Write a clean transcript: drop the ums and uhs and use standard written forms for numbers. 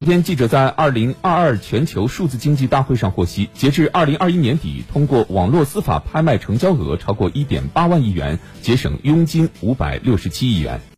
昨天，记者在2022全球数字经济大会上获悉，截至2021年底，通过网络司法拍卖成交额超过1.8万亿元，节省佣金567亿元。